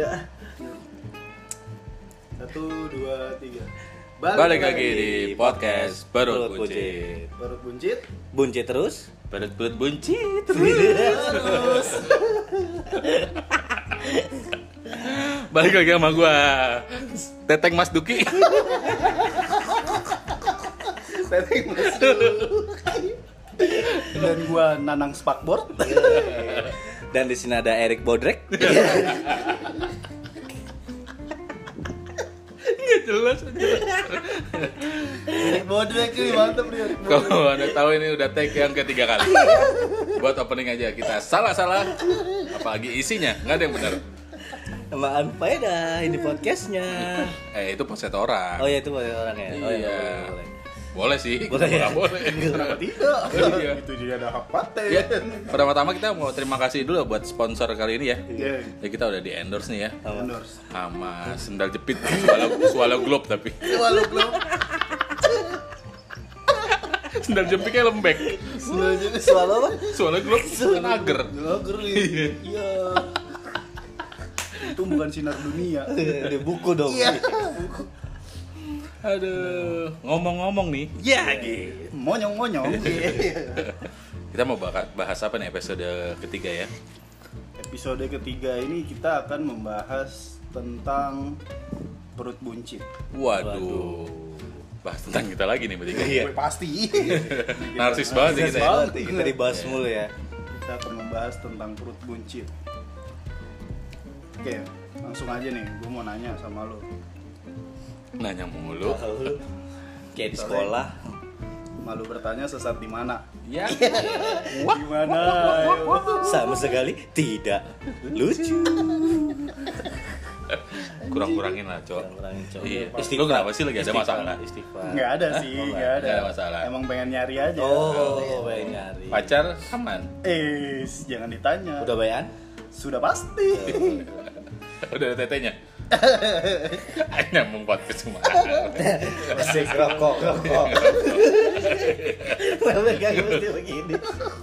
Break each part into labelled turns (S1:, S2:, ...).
S1: Udah.
S2: 1, 2, 3.
S3: Balik lagi di podcast Perut Buncit.
S2: Perut buncit.
S1: Buncit terus.
S3: Perut buncit.
S1: Terus.
S3: Balik lagi sama gua Teteng Mas Duki.
S2: Setting masuk. Dan gua Nanang Spakboard.
S1: Dan di sini ada Erik Bodrek.
S3: Nggak jelas aja.
S2: Bodrek nih, mantap nih.
S3: Kalau Anda tahu ini udah take yang ketiga kali. Buat opening aja kita salah-salah. Apalagi isinya nggak ada yang benar.
S1: Sama Faedah ini podcastnya.
S3: Itu podcast orang.
S1: Oh ya itu boleh orang ya. Oh
S3: Iya.
S1: Boleh.
S3: Boleh sih.
S1: Boleh ya?
S3: Nggak boleh.
S2: Kenapa tidak?
S3: Iya.
S2: Itu juga ada hak paten.
S3: Ya, pertama-tama kita mau terima kasih dulu buat sponsor kali ini ya.
S2: Iya.
S3: Ya kita udah di endorse nih ya.
S2: Endorse.
S3: Sama sendal jepit Swallow Globe tapi.
S2: Walau
S3: Sendal jepitnya lembek.
S1: Suara apa?
S3: Swallow Globe kan ager.
S2: Lager nih. Iya. Itu bukan sinar dunia.
S1: Ada buku dong.
S2: Iya.
S3: Aduh, ngomong-ngomong nih.
S1: Ya gitu.
S2: Monyong-monyong.
S3: Kita mau bahas apa nih episode ketiga ya?
S2: Episode ketiga ini kita akan membahas tentang perut buncit.
S3: Waduh. Bahas tentang kita lagi nih bertiga.
S1: Iya.
S2: Pasti.
S3: Narsis banget ya kita ya.
S1: Kita dibahas mulu ya.
S2: Kita akan membahas tentang perut buncit. Oke, langsung aja nih. Gue mau nanya sama lo.
S3: Nanya mulu.
S1: Kayak di sekolah.
S2: Malu bertanya sesat di mana?
S3: Ya.
S2: Di mana?
S1: Sama sekali tidak lucu.
S3: Kurang-kurangin lah, Cok.
S1: Kurang-kurangin, Cok.
S3: Iya.
S1: Istighfar.
S3: Lu kenapa sih lagi ada masalah?
S1: Istighfar.
S2: Nggak ada sih, nggak ada.
S3: Nggak ada masalah.
S2: Emang pengen nyari aja.
S1: Oh, baik nyari.
S3: Pacar aman.
S2: Jangan ditanya.
S1: Udah bayan?
S2: Sudah pasti.
S3: Udah ada tetenya. Nyambung podcast semua.
S1: Asik rokok. Mereka mesti begini.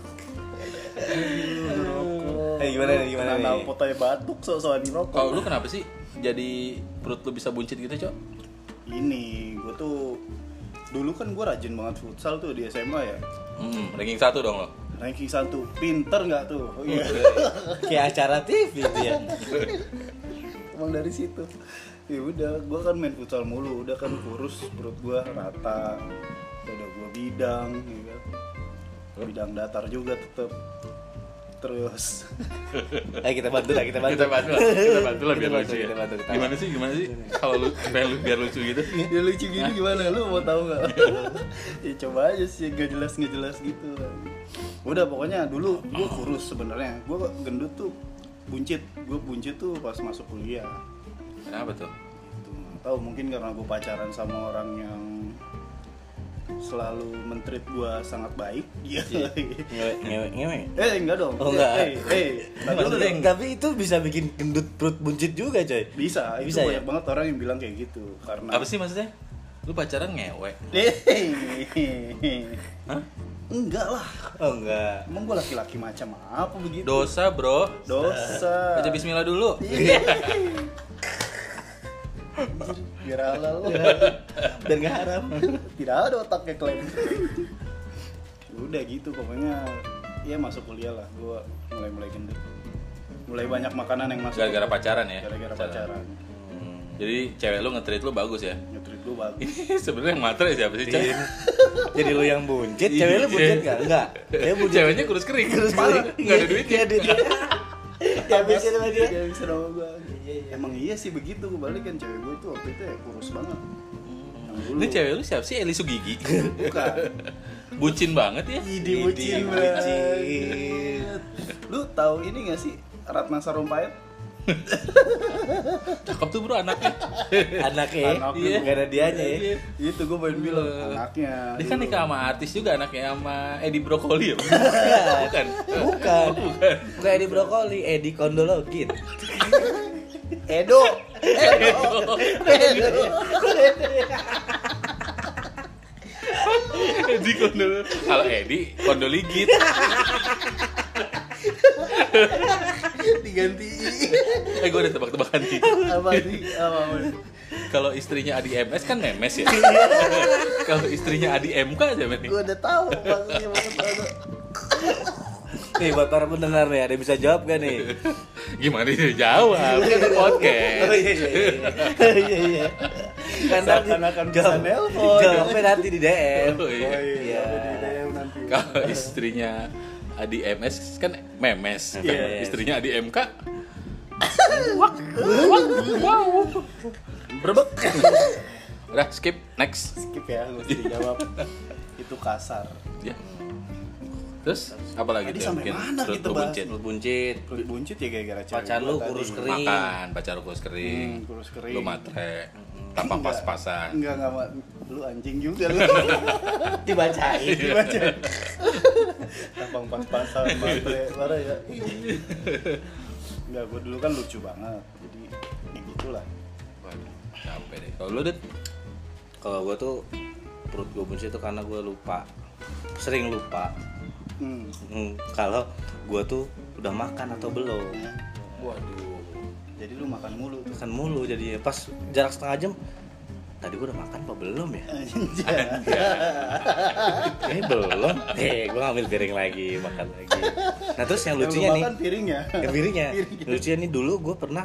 S1: Gimana
S2: Kenal
S1: nih?
S2: fotonya batuk sok-sokan rokok.
S3: Kalau lu kenapa sih jadi perut lu bisa buncit gitu, Cok?
S2: Ini gue tuh dulu kan gue rajin banget futsal tuh di SMA ya.
S3: Ranking 1 dong lo.
S2: Ranking 1, pinter nggak tuh? Oh, iya.
S1: Kayak acara TV itu ya.
S2: Emang dari situ. Ya udah, gue kan main futsal mulu, udah kan kurus, perut gue rata, udah gue bidang, ya kan. Bidang datar juga tetep. Terus,
S1: Ayo kita bantu lah.
S3: Kita bantu lah biar lucu ya.
S1: Kita bantu.
S3: Gimana sih? Kalau lu biar lucu gitu?
S2: ya lucu gini gimana? Lu mau tahu nggak? Ya coba aja sih, gak jelas gitu. Udah pokoknya dulu gue kurus sebenarnya, gue gendut tuh buncit. Gue buncit tuh pas masuk kuliah.
S3: Kenapa tuh?
S2: Itu nggak tahu, mungkin karena gue pacaran sama orang yang selalu men-treat gue sangat baik. Iya.
S1: Ngewe.
S2: Enggak dong.
S1: Oh, enggak.
S2: Tapi
S1: Tapi itu bisa bikin gendut perut buncit juga, coy.
S2: bisa. Itu
S1: Bisa,
S2: banyak
S1: ya?
S2: banget orang yang bilang kayak gitu karena
S3: Apa sih maksudnya? Lu pacaran ngewe? Hah?
S2: Enggak lah.
S1: Oh enggak.
S2: Emang gue laki-laki macam apa begitu?
S3: Dosa, bro.
S2: Dosa.
S3: Baca bismillah dulu.
S2: Biar halal.
S1: Dan enggak haram.
S2: Tidak ada otaknya klaim. Udah gitu pokoknya ya masuk kuliah lah gue mulai gendut. Mulai banyak makanan yang masuk.
S3: Gara-gara pacaran ya?
S2: Gara-gara pacaran.
S3: Jadi cewek lu nge-treat lu bagus ya?
S2: Nge-treat gue bagus.
S3: Sebenarnya yang matre siapa sih, Cak?
S1: Jadi lu yang buncit, cewek lu buncit enggak? Enggak. Dia buncit.
S3: Ceweknya kurus kering. Parah. Enggak ada duitnya.
S1: Enggak ada duitnya. Ya bisa sama dia.
S2: Ya bisa sama gue. Emang iya sih begitu, kebalik kan cewek gue tuh waktu itu ya kurus banget. Yang dulu.
S3: Ini cewek lu siapa sih? Eli Sugigi?
S2: Bukan.
S3: Bucin banget ya?
S2: Idi bucin banget. Lu tahu ini gak sih Ratna Sarumpait?
S3: Cakep tuh bro anaknya.
S1: Anaknya.
S2: Iya.
S1: Enggak ada dianya ya.
S2: Itu gue pengen bilang anaknya.
S3: Dia kan
S2: dulu.
S3: nikah sama artis juga anaknya sama Edi Brokoli ya?
S1: Bukan.
S3: Bukan.
S1: Bukan Edi Brokoli, Edi Kondologin.
S2: Edo.
S3: Edi Kondol. Kalau Edi Kondoligit.
S2: Diganti.
S3: Gue ada tebak-tebakan nih.
S2: Apa nih? Apa?
S3: Kalau istrinya Adi MS kan memes ya. Kalau istrinya Adi MK aja nih.
S2: Gue udah tahu maksudnya banget.
S1: Nih buat para pendengar nih, ada yang bisa jawab gak nih?
S3: Gimana dia jawab? Kan ada podcast.
S1: Oh iya. Kan nanti
S2: Seakan-akan bisa nelpon.
S1: jawabnya nanti di DM.
S3: Oh iya.
S1: Iya.
S2: Di DM nanti.
S3: Kalau istrinya Adi MS kan memes.
S1: Iya.
S3: Istrinya Adi MK
S2: Berbek.
S3: udah skip next.
S2: Skip ya, gue mesti dijawab. Itu kasar.
S3: Ya. Terus apa lagi
S2: Tadi
S3: tuh yang
S2: sampai
S3: bikin
S2: mana
S3: perut
S2: kita
S3: lu
S2: bahas?
S3: buncit?
S1: Lu buncit,
S2: Kulit buncit ya gara-gara cewek
S1: pacar
S2: gua
S1: lu
S2: tadi.
S1: kurus kering.
S3: Makan, pacar lu kurus kering.
S2: Kurus kering.
S3: Lu matre, tampang
S2: Enggak.
S3: pas-pasan.
S2: Enggak, lu anjing juga lu.
S1: Dibacain.
S2: Dibaca. Tampang pas-pasan, matre, parah ya. Enggak, gue dulu kan lucu banget. Jadi ya gitulah.
S3: Waduh, capek deh. Kalau lu, Dit?
S1: Kalau gue tuh perut gue buncit itu karena gue lupa, sering lupa. Kalau gue tuh udah makan atau belum.
S3: Waduh.
S2: Jadi lu makan mulu tuh.
S1: Makan mulu jadinya. Pas jarak setengah jam, tadi gue udah makan apa belum ya? Kayaknya belum. Gue ngambil piring lagi, makan lagi. Nah terus yang lucunya
S2: lu
S1: nih,
S2: makan piringnya.
S1: piringnya. Lucunya nih dulu gue pernah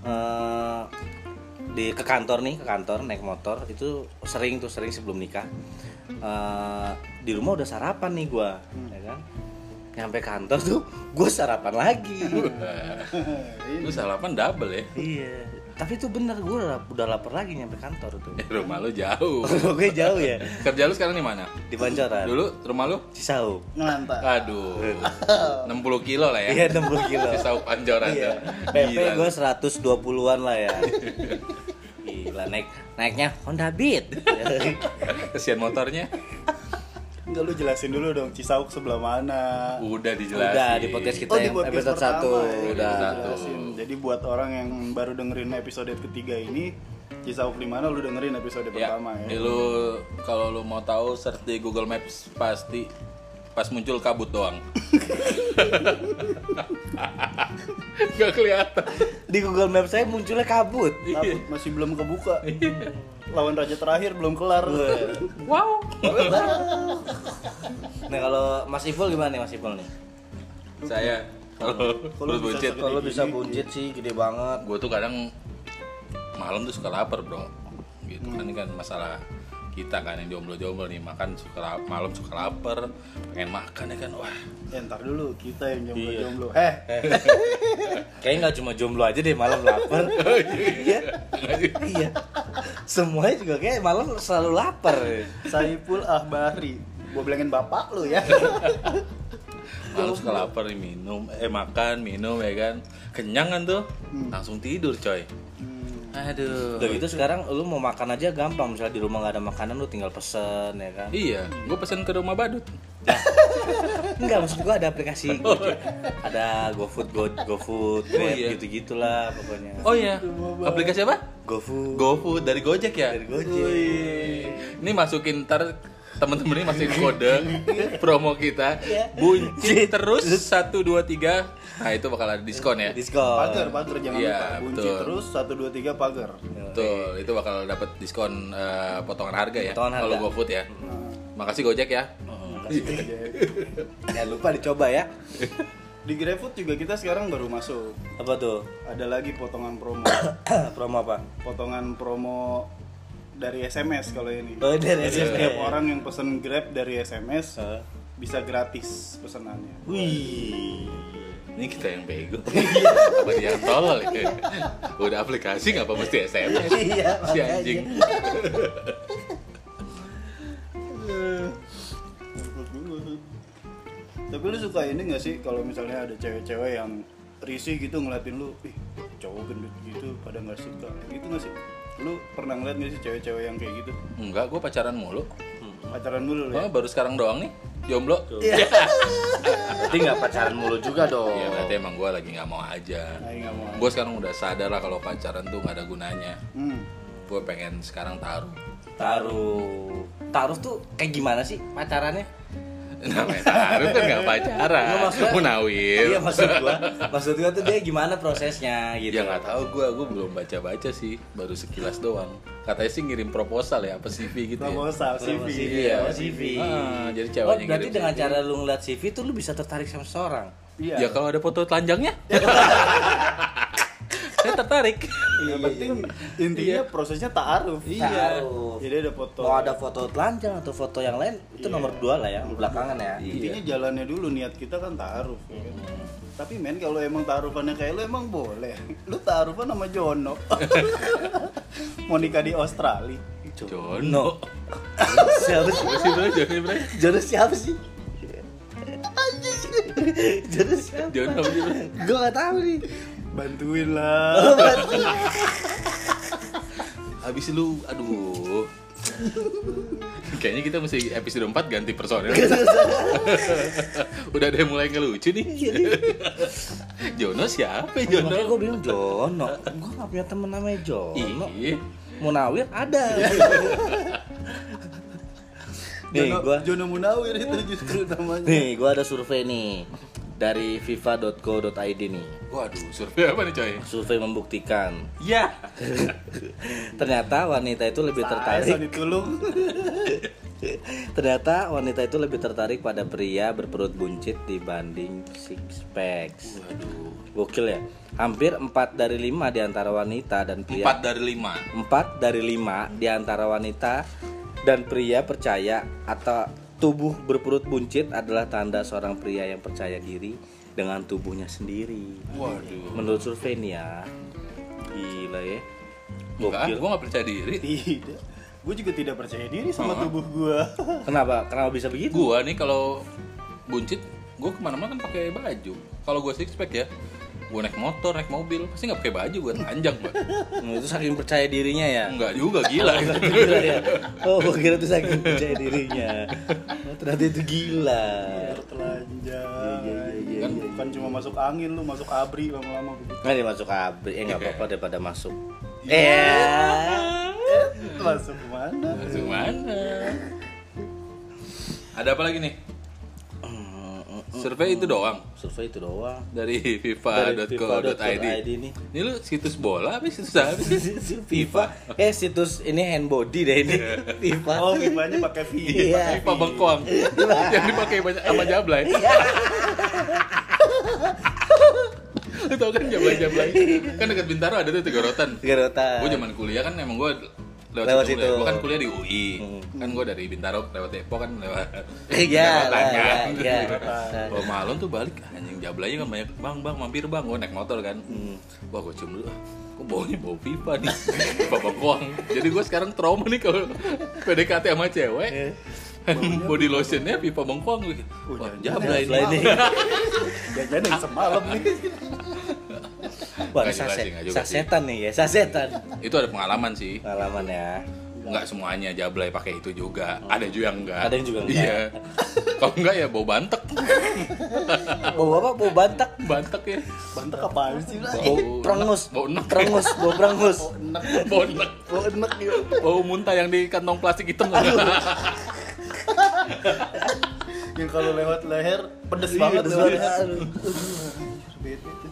S1: ke kantor naik motor itu sering sebelum nikah. Di rumah udah sarapan nih gue, ya kan? Nyampe kantor tuh gue sarapan lagi.
S3: Lu sarapan double ya?
S1: Iya. Tapi itu bener, gue udah lapar lagi nyampe kantor tuh.
S3: Rumah lu jauh.
S1: Gue jauh ya,
S3: Kerja lu sekarang di mana?
S1: di Pancoran.
S3: Dulu rumah lu?
S1: Cisauk.
S2: Ngelantar.
S3: Aduh. 60 kilo lah ya.
S1: Iya 60 kilo.
S3: Di Sauk Pancoran
S1: Iya.
S3: tuh.
S1: PP
S3: Gila.
S1: gue 120-an lah ya. Gila, naiknya Honda Beat.
S3: Kesian motornya.
S2: Enggak, lu jelasin dulu dong Cisauk sebelah mana.
S3: Udah dijelasin.
S1: Udah di podcast kita
S2: di
S1: yang
S2: podcast
S1: episode 1
S2: pertama, ya.
S1: udah.
S2: Jelasin. Jadi buat orang yang baru dengerin episode ketiga ini, Cisauk di mana, lu dengerin episode pertama ya.
S3: Lu kalau lu mau tahu search di Google Maps pasti pas muncul kabut doang. Gak kelihatan.
S1: Di Google Maps saya munculnya kabut.
S2: Kabut masih belum kebuka. Lawan raja terakhir belum kelar.
S3: Wow.
S1: Nah kalau Mas Ipul gimana nih Mas Ipul nih?
S3: Saya kalau
S2: Kalau bisa
S3: buncit,
S2: segede
S1: Kalau
S2: gini.
S1: bisa buncit sih gede banget.
S3: gue tuh kadang malam tuh suka lapar bro. Gitu kan ini kan masalah kita kan yang jomblo nih makan malam suka lapar, pengen makan ya kan wah.
S2: Ya ntar dulu kita yang
S1: Iya.
S2: jomblo-jomblo.
S1: Kayaknya nggak cuma jomblo aja deh malam lapar. Iya. Iya. Semuanya juga kayak malam selalu lapar.
S2: Saiful Ahbari. Gua bilangin bapak lu ya.
S3: Malam suka lapar nih makan minum ya kan kenyang kan tuh langsung tidur coy. Aduh.
S1: Udah gitu sekarang lu mau makan aja gampang, misalnya di rumah nggak ada makanan lu tinggal pesen ya kan.
S3: Iya, gue pesen ke rumah badut.
S1: Enggak, maksud gua ada aplikasi Gojek. Ada GoFood, GoFood, Grab
S3: iya.
S1: gitu-gitulah pokoknya.
S3: Oh iya, aplikasi apa?
S1: GoFood.
S3: GoFood dari Gojek ya?
S1: Dari Gojek.
S3: Wih. Ini masukin ntar temen-temen ini masukin kode promo kita buncit terus 1 2 3. Nah itu bakal ada diskon ya.
S1: Diskon.
S2: Pagar jangan
S3: Iya,
S2: lupa. Kunci
S3: betul.
S2: terus 1 2 3 pagar.
S3: Betul, itu bakal dapat diskon potongan harga ya.
S1: Potongan
S3: Kalau
S1: harga.
S3: GoFood ya. Makasih Gojek ya.
S1: Jangan lupa dicoba ya.
S2: Di GrabFood juga kita sekarang baru masuk.
S1: Apa tuh?
S2: Ada lagi potongan promo.
S1: Promo apa?
S2: Potongan promo dari SMS kalau ini.
S1: Oh, dari
S2: Jadi
S1: SMS.
S2: setiap orang yang pesen Grab dari SMS
S1: Hah?
S2: bisa gratis pesenannya.
S1: Wih.
S3: Ini kita yang bego. Apa dia yang tolol ya? Udah aplikasi ngapa mesti SMS?
S1: Iya,
S3: Si
S1: makanya.
S3: anjing.
S2: Tapi lu suka ini gak sih kalau misalnya ada cewek-cewek yang risih gitu ngeliatin lu, ih cowok gendut gitu pada nggak suka, gitu nggak sih? Lu pernah ngeliat gak sih cewek-cewek yang kayak gitu?
S3: Enggak, gue pacaran mulu.
S2: Pacaran dulu lu
S3: Oh,
S2: ya?
S3: baru sekarang doang nih, jomblo.
S1: Berarti nggak pacaran mulu juga dong.
S3: Iya, berarti emang gue lagi nggak mau aja.
S2: Nah, nggak mau.
S3: Gue sekarang udah sadar lah kalau pacaran tuh nggak ada gunanya.
S2: Hmm.
S3: Gue pengen sekarang taruh.
S1: Taruh tuh kayak gimana sih pacarannya?
S3: Namanya taruh kan nggak pacaran.
S1: Nggak, maksudnya-
S3: Munawir.
S1: Iya maksud gua tuh dia gimana prosesnya gitu.
S3: Ya nggak tahu gue belum baca sih, baru sekilas doang. Katanya sih ngirim proposal ya, apa CV gitu ya.
S2: Proposal CV.
S1: Iya, CV.
S3: Jadi
S1: Oh,
S3: ceweknya
S1: berarti
S3: ngirim
S1: dengan
S3: CV.
S1: cara lu ngeliat CV tuh lu bisa tertarik sama seseorang.
S2: Iya.
S3: Ya kalau ada foto telanjangnya, saya tertarik.
S2: Yang penting intinya prosesnya ta'aruf.
S1: Ta'aruf.
S2: Jadi ada foto.
S1: Mau ada foto telanjang atau foto yang lain itu
S2: Iya.
S1: nomor 2 lah ya, belakangan ya.
S2: Intinya jalannya dulu, niat kita kan ta'aruf ya kan? Tapi men kalau emang ta'arufannya kayak lu emang boleh. Lu ta'arufan sama Jono. Mau nikah di Australia.
S3: Jono.
S1: Siapa sih?
S3: Apa sih bro? Jono bro?
S1: Jono siapa sih? Jono siapa?
S3: Jono apa sih bro?
S1: Gue gak tahu nih.
S2: Bantuin lah.
S3: Habis lu, aduh. Kayaknya kita mesti episode 4 ganti personel. Udah ada yang mulai ngelucu nih. Jono siapa ya
S1: Makanya
S3: Jono?
S1: gue bilang Jono. Gue gak punya temen namanya Jono.
S3: Iya.
S1: Munawir ada. Nih
S2: Jono Munawir itu justru namanya.
S1: gue ada survei nih dari fifa.co.id nih.
S3: Waduh, survei apa nih coy?
S1: Survei membuktikan
S3: Ya.
S1: ternyata wanita itu lebih
S2: Saya
S1: tertarik.
S2: ditulung.
S1: Ternyata wanita itu lebih tertarik pada pria berperut buncit dibanding six packs.
S3: Waduh.
S1: Gokil ya. Hampir 4 dari 5 di antara wanita dan pria.
S3: 4 dari 5.
S1: 4 dari 5 di antara wanita dan pria percaya atau tubuh berperut buncit adalah tanda seorang pria yang percaya diri dengan tubuhnya sendiri.
S3: Waduh.
S1: Menurut survei nih ya. Gila ya.
S3: Enggak,
S1: Gokil.
S3: gue gak percaya diri.
S2: Tidak. Gue juga tidak percaya diri sama
S3: Oh.
S2: tubuh gue.
S1: Kenapa? Kenapa bisa begitu?
S3: Gua nih kalau buncit, gue kemana-mana kan pakai baju. Kalau gue six pack ya, gue naik motor, naik mobil, pasti nggak pakai baju, gue telanjang pak.
S1: Itu saking percaya dirinya ya.
S3: Enggak juga, gila.
S1: Gila ya. Oh, gua kira itu saking percaya dirinya. Oh, ternyata itu gila.
S2: Biar telanjang.
S1: Iya,
S2: Kan bukan cuma masuk angin, lu masuk abri lama-lama begitu.
S1: Nggak dia masuk abri, nggak apa-apa daripada masuk.
S2: Masuk mana?
S3: Langsung mana? Ada apa lagi nih? Survei itu doang
S1: Survei itu doang.
S3: dari
S1: Dari
S3: fifa.co.id.
S1: nih.
S3: Ini lu situs bola apa situs apa sih?
S1: FIFA. Situs ini handbody deh ini. FIFA.
S2: Oh, pipanya pakai V.
S1: Iya.
S3: FIFA Bengkoang yang dipakai banyak sama Jablay. Lu tau kan Jablay kan dekat Bintaro ada tuh Tegorotan.
S1: Garotan.
S3: Gue zaman kuliah kan emang gue lewat
S1: Lewat
S3: situ.
S1: situ.
S3: Gue kan kuliah di UI. Kan gue dari Bintaro lewat Depok kan lewat.
S1: Iya,
S3: Jakarta,
S1: iya,
S3: kan.
S1: iya.
S3: Kalau malam tuh balik anjing Jablaynya kan banyak bang mampir bang gue naik motor kan. Wah gue cium dulu. Kok baunya bau FIFA nih. FIFA Bengkoang. Jadi gue sekarang trauma nih kalau PDKT sama cewek. Body lotionnya FIFA Bengkoang. Wah Jablay
S1: Jablay
S3: nih.
S1: nih.
S2: Jajan yang semalam nih.
S1: Wah,
S3: Nggak juga sih, nggak juga sih.
S1: sasetan nih ya, sasetan.
S3: Itu ada pengalaman sih.
S1: Pengalaman ya.
S3: Enggak semuanya Jablay pakai itu juga. Ada juga yang enggak.
S1: Ada yang juga enggak.
S3: Iya. Kalau enggak ya bau bantek.
S1: Bau apa? Bau bantak.
S3: Bantek ya.
S2: Bantek apaan sih lah?
S1: Bau prengus.
S3: Bau enek.
S1: Prengus, bau prengus.
S2: Enak.
S3: Bau enek.
S2: Oh, enak gitu.
S3: Bau muntah yang di kantong plastik hitam.
S2: Yang kalau lewat leher pedes
S1: Iya,
S2: banget
S1: pedes
S2: lewat
S1: banget.
S2: leher.
S1: Aduh.
S2: Bete tuh.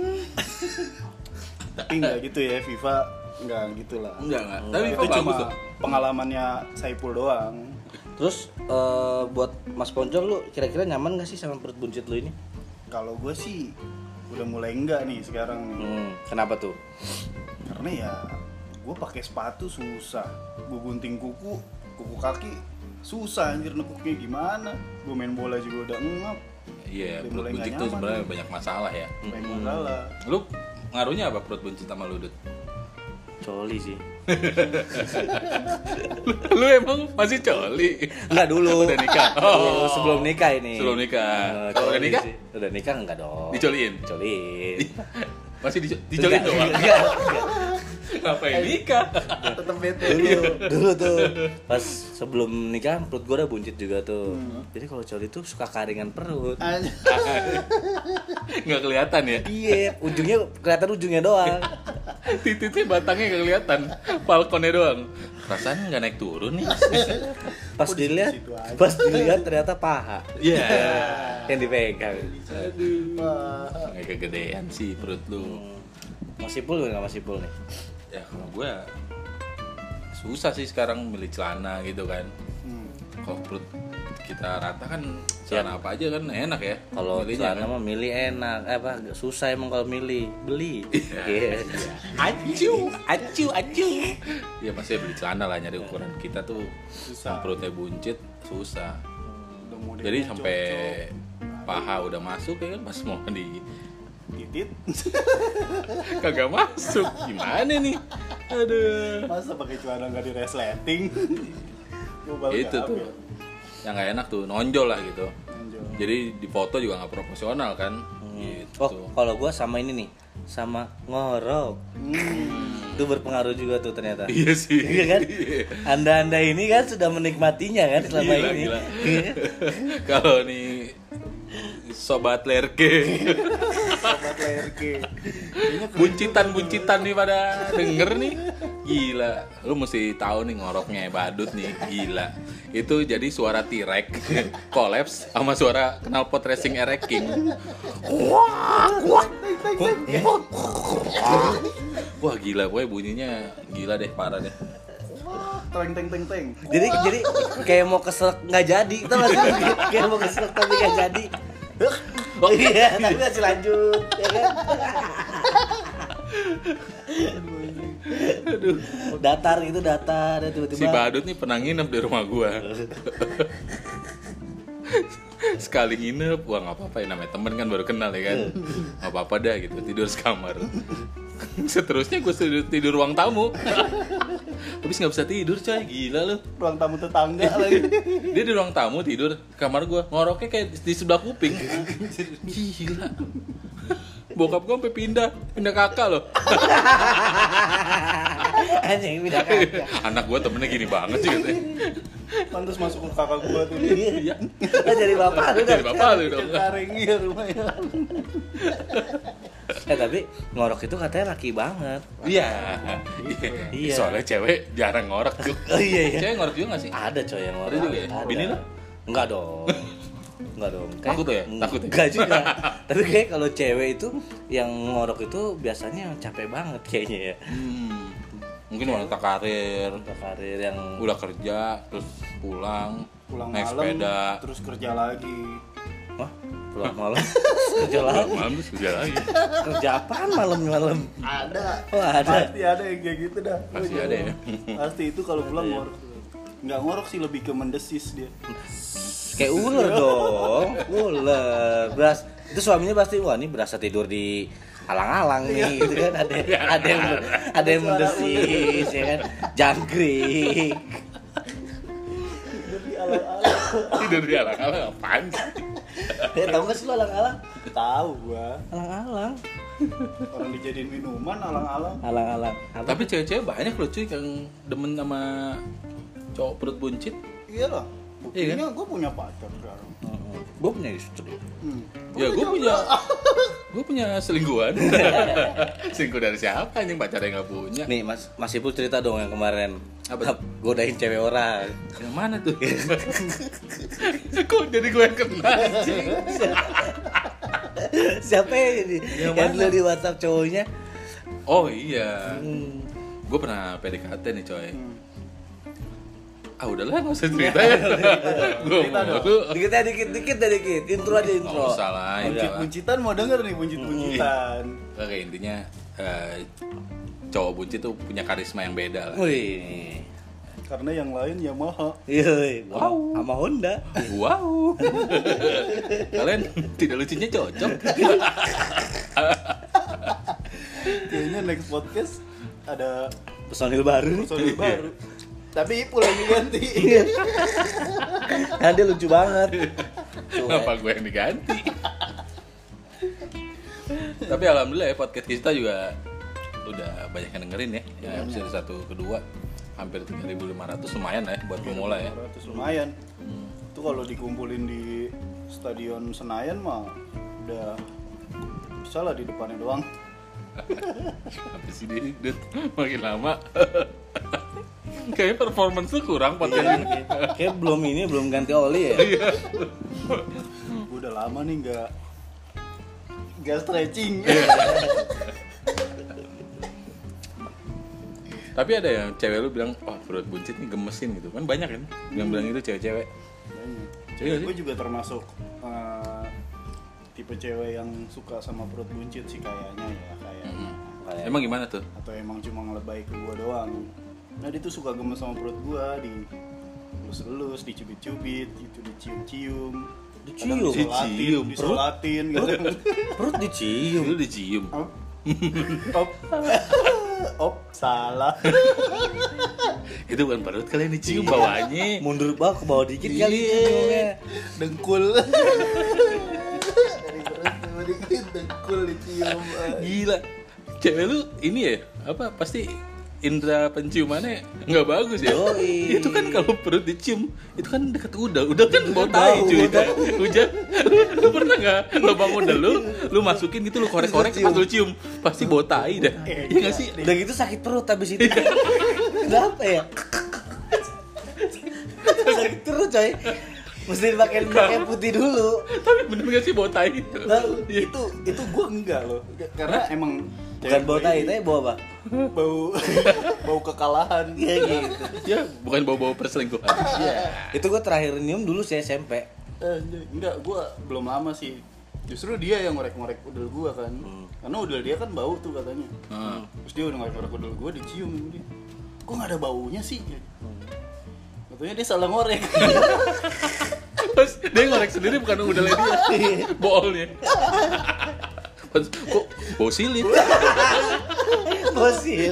S2: Tapi nggak gitu ya, FIFA nggak gitulah.
S3: Enggak. Tapi
S2: Itu
S3: kok bagus
S2: cuma
S3: tuh.
S2: pengalamannya Saipul doang.
S1: Terus buat Mas Poncol lu kira-kira nyaman gak sih sama perut buncit lu ini?
S2: Kalau gue sih udah mulai enggak nih sekarang nih.
S1: Kenapa tuh?
S2: Karena ya gue pakai sepatu susah, gue gunting kuku kaki susah anjir nekuknya gimana. Gue main bola juga udah ngap,
S3: Iya,
S2: Udah
S3: perut
S2: mulai
S3: buncit
S2: nggak
S3: tuh
S2: nyaman
S3: sebenarnya
S2: nih.
S3: banyak masalah ya.
S2: banyak masalah.
S3: Lu ngaruhnya apa perut buncit sama lu, Dut?
S1: Coli sih.
S3: Lu emang masih coli?
S1: Enggak dulu.
S3: Udah nikah?
S1: Oh, sebelum nikah ini.
S3: Sebelum nikah. Kalau udah
S1: coli
S3: nikah?
S1: sih. Udah nikah enggak dong.
S3: Dicoliin?
S1: Dicoliin.
S3: Masih dicolin doang?
S1: Enggak.
S3: Ngapain nikah?
S2: Tetep bete.
S1: Dulu tuh pas sebelum nikah perut gue udah buncit juga tuh. Jadi kalau coli tuh suka karingan perut.
S2: Anjir.
S3: Nggak kelihatan ya?
S1: Iya, ujungnya kelihatan ujungnya doang.
S3: Titiknya batangnya nggak kelihatan, balkonnya doang. Rasanya nggak naik turun nih.
S1: Pas
S2: Kok di
S1: dilihat,
S2: situ aja?
S1: pas dilihat ternyata paha.
S3: Iya.
S1: Yang dipegang.
S2: Wah.
S3: Kayak kegedean sih perut lu.
S1: Masih pul nggak masih pul nih?
S3: Ya kalau gue susah sih sekarang milih celana gitu kan. Kalau perut kita rata kan celana apa aja kan enak ya.
S1: Kalau
S3: Milihnya
S1: celana
S3: kan.
S1: mah milih enak, susah emang kalau milih, beli. Iya.
S3: Acu. Ya pasti beli celana lah, nyari ukuran kita tuh
S2: Susah.
S3: yang perutnya buncit susah.
S2: Udah modelnya
S3: Jadi sampai
S2: cocok.
S3: paha udah masuk ya kan, pas mau di
S2: titit.
S3: kagak masuk. Gimana nih? Aduh.
S2: Masa pakai celana nggak di resleting? Gua baru
S3: Itu
S2: nggak
S3: tuh
S2: ambil.
S3: yang nggak enak tuh, nonjol lah gitu.
S2: Lanjut.
S3: Jadi di foto juga nggak proporsional kan. Gitu.
S1: Oh, kalau gua sama ini nih, sama ngorok. Itu berpengaruh juga tuh ternyata.
S3: Iya sih.
S1: Iya kan? Anda ini kan sudah menikmatinya kan selama
S3: Gila,
S1: ini.
S3: gila. Kalau nih sobat lerke,
S2: Sobat LRG. Kayaknya keren
S3: buncitan nih pada denger nih, gila. Lu mesti tahu nih ngoroknya badut nih, gila. Itu jadi suara T-Rex kolaps sama suara knalpot racing Erek King. Wah gila, pokoknya bunyinya gila deh, parah deh.
S2: teng.
S1: Jadi kayak mau keselak nggak jadi, tau gak sih? Kayak mau keselak tapi nggak jadi. Oh iya, tapi masih lanjut, ya kan?
S3: Aduh.
S1: Datar gitu, datar, dan tiba-tiba.
S3: Si badut nih pernah nginep di rumah gua. Sekali nginep, wah nggak apa-apa ya, namanya temen kan baru kenal ya kan, nggak apa-apa dah gitu, tidur sekamar. Seterusnya gue tidur ruang tamu, habis nggak bisa tidur coy, gila lu.
S2: Ruang tamu tetangga lagi.
S3: Dia di ruang tamu tidur, kamar gue ngoroknya kayak di sebelah kuping, gila. Bokap gue sampai pindah kakak loh.
S1: Anjing pindah kakak.
S3: Anak gue temennya gini banget sih katanya.
S2: Pantes masuk ke kakak gua tuh.
S3: Iya.
S1: Jadi bapak lu
S3: Jadi bapak lu dong.
S2: Karing iya rumahnya.
S1: Tapi ngorok itu katanya laki banget.
S3: Iya.
S1: Iya.
S3: Soalnya cewek jarang ngorok tuh.
S1: Oh iya.
S3: Cewek ngorok juga gak sih?
S1: Ada coy yang ngorok.
S3: Ada juga ya?
S1: Ada.
S3: Bini lu?
S1: Enggak dong. Enggak dong.
S3: Takut tuh ya? Takut ya?
S1: Enggak juga. Tapi kayak kalau cewek itu yang ngorok itu biasanya yang capek banget kayaknya ya.
S3: Mungkin wanita karir,
S1: Untuk karir yang
S3: udah kerja terus pulang naik
S2: malam
S3: sepeda.
S2: terus kerja lagi.
S1: wah, pulang malam kerja lagi.
S3: Malam terus kerja lagi.
S1: Kerja apaan malam-malam?
S2: Ada.
S1: Oh, ada.
S2: Pasti ada yang kayak gitu dah.
S3: Pasti ada ya.
S2: Pasti itu kalau pulang ngorok. Nggak ngorok sih, lebih ke mendesis dia.
S1: Kayak ular dong. Ular. Itu suaminya pasti wah ini berasa tidur di alang-alang nih gitu kan, ada yang mendesis ya kan, jangkrik.
S2: Jadi alang-alang.
S3: Tidur di alang-alang apaan sih?
S1: Tahu nggak sih lo alang-alang?
S2: Tahu gua.
S1: Alang-alang.
S2: Orang dijadiin minuman alang-alang.
S1: Alang-alang. Apa?
S3: Tapi cewek-cewek banyak loh cuy yang demen sama cowok perut buncit.
S2: Iya lah.
S3: Iya
S2: Buktinya gua punya pacar sekarang.
S1: Gue punya istri.
S3: Ya gue punya selingkuhan. Selingkuh dari siapa anjing, pacarnya nggak punya?
S1: Nih Mas Ipul cerita dong yang kemarin.
S3: Apa?
S1: Godain cewek orang.
S3: Yang mana tuh? Kok jadi gue yang kena anjing?
S1: Siapa ya ini?
S3: Yang
S1: Yang
S3: mana?
S1: dulu di WhatsApp cowoknya.
S3: Oh iya, gue pernah PDKT nih coy. Udahlah nggak usah cerita ya. Gue
S2: Cerita
S3: mau
S2: dong.
S1: Dikit. Intro aja intro.
S3: Nggak usah lah.
S2: Buncit-buncitan mau denger nih buncit-buncitan.
S3: Oke, intinya cowok buncit tuh punya karisma yang beda lah.
S1: Wih.
S2: Karena yang lain Yamaha.
S1: Iya, wow. Sama Honda.
S3: Wow. Kalian tidak lucunya cocok.
S2: Kayaknya next podcast ada
S1: Personil baru nih.
S2: personil baru. Tapi Ipul yang diganti.
S1: Kan dia lucu banget.
S3: Kenapa gue yang diganti? Tapi alhamdulillah ya podcast kita juga udah banyak yang dengerin ya. Ya episode 1 kedua hampir 3.500, lumayan lah ya buat pemula ya.
S2: 500 lumayan. Itu kalau dikumpulin di Stadion Senayan mah udah bisa lah di depannya doang.
S3: Apa sih dia Dut? Makin lama Kayaknya performance lu kurang podcast ini.
S1: Kayak belum ganti oli ya.
S2: Gue udah lama nih nggak stretching.
S3: Tapi ada yang cewek lu bilang, wah perut buncit nih gemesin gitu. Kan banyak kan yang bilang itu cewek-cewek.
S2: Cewek gue juga termasuk tipe cewek yang suka sama perut buncit sih kayaknya ya, kayaknya.
S3: Emang gimana tuh?
S2: Atau emang cuma ngelebay ke gue doang. Nah dia tuh suka gemes sama perut gue, elus-elus, dicubit-cubit, gitu, dicium-cium.
S1: Dicium?
S2: Disolatin gitu.
S1: Perut dicium.
S3: Lu dicium.
S2: Op, salah.
S3: Itu bukan perut kalian dicium bawahnya.
S1: Mundur bawah ke bawah dikit kali ciumnya.
S2: Dengkul. Dari perut dikit dengkul dicium.
S3: Gila. Cewek lu ini ya, apa pasti indra penciumannya nggak bagus ya?
S1: Yoi.
S3: Itu kan kalau perut dicium, itu kan dekat udel kan bau tai cuy. Hujan, lu pernah nggak lubang udel lu masukin gitu, lu korek-korek pas lu cium, pasti bau tai dah. Iya nggak sih?
S1: Udah gitu sakit perut habis itu. Kenapa ya? Sakit perut coy. Mesti pakai putih dulu.
S3: Tapi bener nggak sih bau tai?
S2: Nah, itu gue enggak loh, karena emang
S1: Bukan bau tai, tapi bau apa?
S2: bau kekalahan.
S1: Iya gitu.
S3: Ya, bukan bau-bau perselingkuhan.
S1: Iya. Itu gue terakhir nyium dulu sih SMP.
S2: Enggak, gue belum lama sih. Justru dia yang ngorek-ngorek udel gue kan. Karena udel dia kan bau tuh katanya. Terus dia udah ngorek-ngorek udel gue, dicium dia. Kok nggak ada baunya sih? Katanya dia salah ngorek.
S3: Terus dia ngorek sendiri bukan udelnya dia, boolnya. Kok bau silit?
S1: Fosil.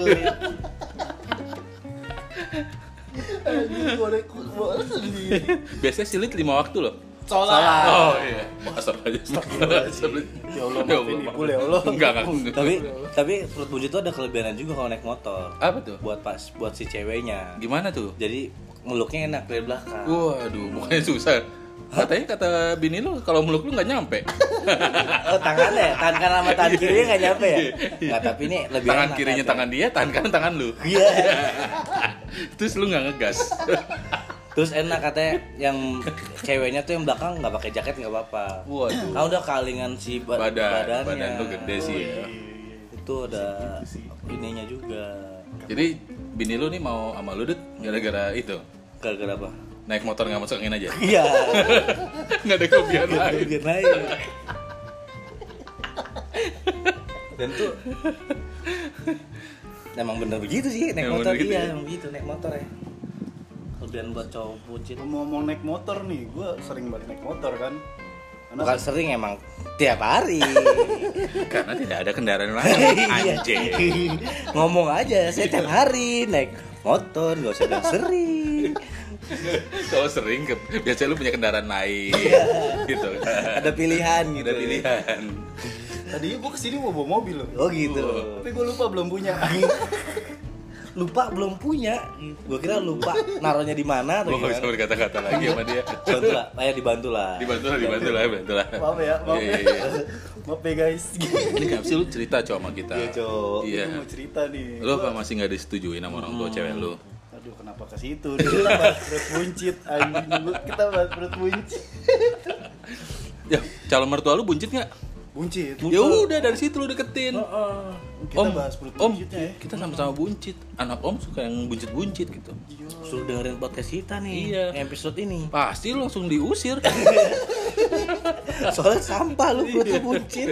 S2: Ngorek sendiri.
S3: Biasanya silit 5 waktu loh.
S2: Sholat.
S3: Oh iya. Astagfirullah.
S2: Ya Allah, maafin ibu ya Allah.
S3: Enggak.
S1: Tapi perut buncit itu ada kelebihan juga kalau naik motor.
S3: Apa tuh?
S1: Buat si ceweknya.
S3: Gimana tuh?
S1: Jadi meluknya enak dari belakang.
S3: Waduh, bukannya susah. Katanya kata bini lu kalau meluk lu nggak nyampe.
S1: Oh, tangannya, tangan kanan sama tangan kirinya nggak nyampe ya? Nggak, tapi ini lebih
S3: Tangan
S1: enak
S3: kirinya
S1: katanya.
S3: tangan dia, tangan kanan tangan lu.
S1: Iya.
S3: Terus lu nggak ngegas.
S1: Terus enak katanya yang ceweknya tuh yang belakang nggak pakai jaket nggak apa-apa.
S3: Waduh.
S1: Kan udah kalingan si badannya.
S3: Badan lu gede sih ya.
S1: Itu ada ininya juga.
S3: Jadi bini lu nih mau sama lu Dut gara-gara itu.
S1: Gara-gara apa?
S3: Naik motor nggak masuk angin aja.
S1: Iya.
S3: Nggak ada kelebihan lain.
S1: Biar naik. Dan tuh emang bener begitu sih naik
S3: Emang
S1: motor
S3: bener gitu
S1: iya,
S3: ya?
S1: emang begitu naik motor ya. Kelebihan buat cowok bucin.
S2: Ngomong naik motor nih, gue sering banget naik motor kan. Karena
S1: Bukan sering emang tiap hari.
S3: Karena tidak ada kendaraan lain.
S1: Iya.
S3: Anjing.
S1: Ngomong aja saya tiap hari naik motor, gak usah bilang sering.
S3: Kalau sering biasanya lu punya kendaraan lain gitu kan.
S1: Ada pilihan gitu.
S3: Ada pilihan.
S2: tadinya gue kesini mau bawa mobil loh.
S1: Oh gitu.
S2: Tapi gue lupa belum punya.
S1: Lupa belum punya. Gue kira lupa naruhnya di mana atau
S3: Gua nggak bisa
S1: gimana.
S3: berkata-kata lagi sama dia.
S1: Bantu lah, dibantu lah.
S3: Dibantu lah.
S2: Maaf ya, maaf
S3: Iya,
S2: ya.
S3: iya.
S2: Maaf ya guys.
S3: Ini kenapa sih lu cerita cowok sama kita?
S1: Iya, Cok.
S3: Iya.
S2: Gue mau cerita nih.
S3: Lu apa masih nggak disetujuin sama orang tua cewek lu?
S2: Aduh, kenapa ke situ? Kita bahas perut buncit anjing. Kita bahas perut buncit.
S3: Ya, calon mertua lu buncit nggak?
S2: Buncit.
S3: Ya udah dari situ lu deketin.
S2: Kita bahas perut
S3: om,
S2: buncitnya ya.
S3: kita sama-sama buncit. Anak om suka yang buncit-buncit gitu.
S1: Suruh dengerin podcast kita nih.
S3: Iya.
S1: Episode ini.
S3: Pasti lu langsung diusir.
S1: Soalnya sampah lu perut buncit.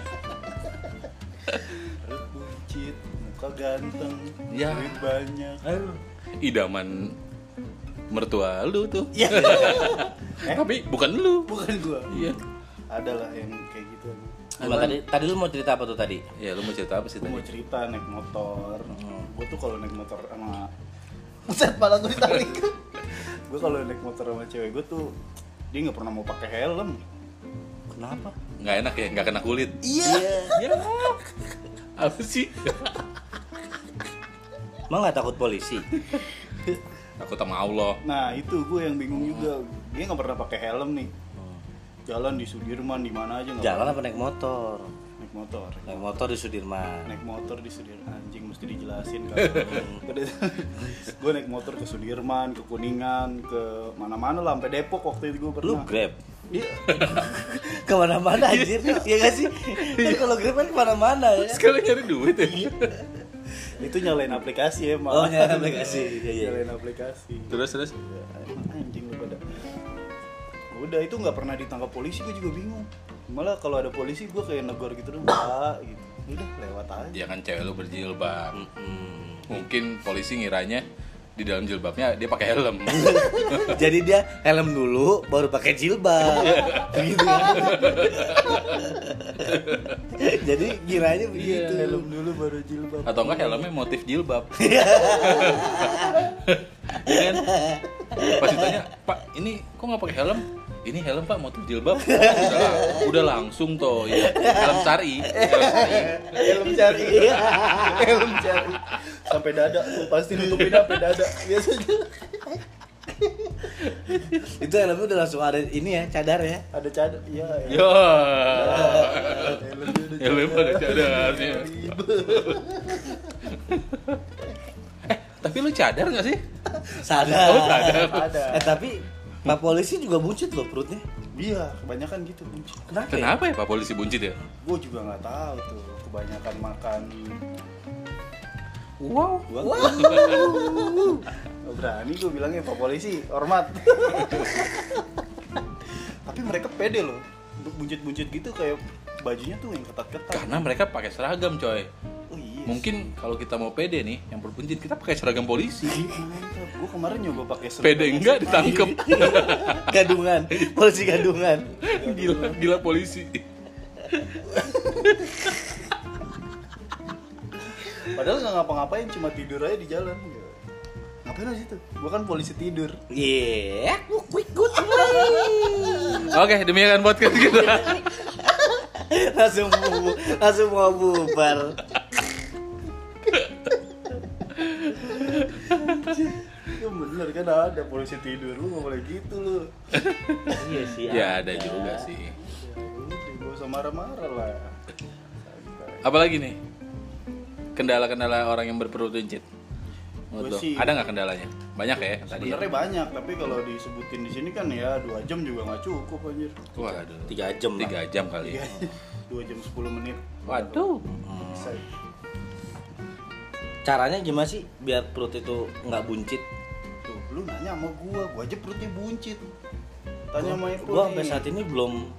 S2: Perut buncit, muka ganteng,
S3: Ya.
S2: duit banyak.
S3: Idaman mertua lu tuh.
S2: Iya.
S3: Tapi bukan lu.
S2: Bukan gua.
S3: Iya.
S2: Ada lah yang kayak gitu.
S1: Cuma tadi lu mau cerita apa tuh tadi?
S3: Ya, lu mau cerita apa sih
S2: Gue mau
S3: tadi?
S2: cerita naik motor. Gue tuh kalau naik motor sama Buset, malah gue ditarik. Gue kalau naik motor sama cewek gue tuh dia nggak pernah mau pakai helm.
S1: Kenapa?
S3: Nggak enak ya, nggak kena kulit.
S2: Iya.
S3: Ya. Apa sih?
S1: Emang nggak takut polisi?
S3: Takut sama Allah.
S2: Nah itu gue yang bingung juga. Dia nggak pernah pakai helm nih. jalan di Sudirman di mana aja nggak
S1: Jalan
S2: pernah.
S1: apa naik motor?
S2: Naik motor.
S1: Naik motor di Sudirman.
S2: Naik motor di Sudirman, anjing mesti dijelasin kan. Gue naik motor ke Sudirman, ke Kuningan, ke mana-mana lah, sampai Depok waktu itu gue
S1: Lu
S2: pernah.
S1: Grab?
S2: Iya.
S1: Kemana-mana anjir, ya gak sih? Kan kalau Grab kan kemana-mana ya.
S3: Sekali nyari duit ya.
S2: Itu nyalain aplikasi emang.
S1: Oh, nyalain aplikasi. Iya, iya.
S2: Nyalain aplikasi.
S3: Terus
S2: Ya, anjing lu pada. Udah itu nggak pernah ditangkap polisi, gue juga bingung. Malah kalau ada polisi gue kayak negor gitu dong, gitu. Udah lewat aja.
S3: ya kan cewek lu berjilbab.
S1: Hmm.
S3: Mungkin polisi ngiranya di dalam jilbabnya dia pakai helm.
S1: Jadi dia helm dulu, baru pakai jilbab. Gitu ya. Jadi kiranya begitu.
S2: Helm dulu baru jilbab.
S3: Atau enggak helmnya motif jilbab. Ya kan? Pas ditanya, "Pak, ini kok nggak pakai helm?" "Ini helm Pak, motif jilbab." Udah langsung toh ya. Helm syar'i.
S2: Helm cari. Helm cari. Sampai dada tuh pasti nutupin sampai dada biasanya.
S1: Itu helmnya udah langsung ada ini ya, cadar ya.
S2: Ada cadar. Iya. Ya.
S3: Yo.
S2: Helm
S3: Helm ada cadarnya. Tapi lu cadar nggak sih?
S1: Sadar.
S3: Oh, sadar.
S2: Ada.
S1: Tapi Pak polisi juga buncit loh perutnya.
S2: Iya, kebanyakan gitu buncit.
S1: Kenapa? Ya?
S3: Kenapa ya Pak polisi buncit ya?
S2: Gue juga nggak tahu tuh, kebanyakan makan.
S3: Wow.
S2: Nggak berani gue bilangnya Pak Polisi, hormat. Tapi mereka pede loh, buncit-buncit gitu kayak bajunya tuh yang ketat-ketat.
S3: Karena mereka pakai seragam, coy.
S2: Oh iya.
S3: Mungkin kalau kita mau pede nih, yang berbuncit kita pakai seragam polisi.
S2: Mantap. Gue kemarin nyoba pakai
S3: Pede enggak ditangkep.
S1: Gadungan, polisi gadungan.
S3: Gila polisi.
S2: Padahal nggak ngapa-ngapain, cuma tidur aja di jalan. Ngapain aja situ? Gue kan polisi tidur.
S1: Iya, quick good.
S3: Oke, demikian podcast kita.
S1: langsung mau bubar.
S2: Itu bener kan ada polisi tidur, lu nggak boleh gitu lu.
S1: Iya sih.
S3: Ya ada juga sih.
S2: Udah, gak usah marah-marah lah.
S3: Apalagi nih? Kendala-kendala orang yang berperut buncit. Menurut lo,
S2: sih-
S3: ada nggak kendalanya? Banyak ya tadi.
S2: Sebenarnya banyak, tapi kalau disebutin di sini kan ya 2 jam juga nggak cukup anjir.
S3: Waduh.
S1: 3 jam lah.
S3: 3 jam kali.
S2: 2 jam 10 menit.
S3: Waduh.
S2: Bisa.
S1: Caranya gimana sih biar perut itu nggak buncit?
S2: Tuh, lu nanya sama gua aja perutnya buncit. Tanya sama Eko
S1: Gua
S2: nih.
S1: sampai saat ini